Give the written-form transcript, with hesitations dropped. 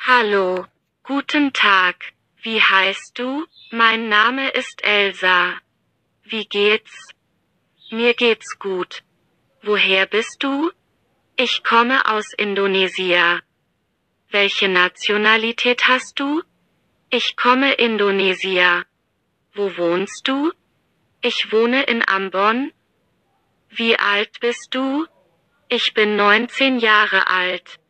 Hallo, guten Tag. Wie heißt du? Mein Name ist Elsa. Wie geht's? Mir geht's gut. Woher bist du? Ich komme aus Indonesien. Welche Nationalität hast du? Ich komme Indonesien. Wo wohnst du? Ich wohne in Ambon. Wie alt bist du? Ich bin 19 Jahre alt.